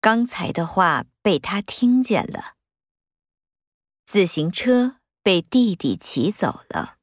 刚才的话被他听见了。自行车被弟弟骑走了。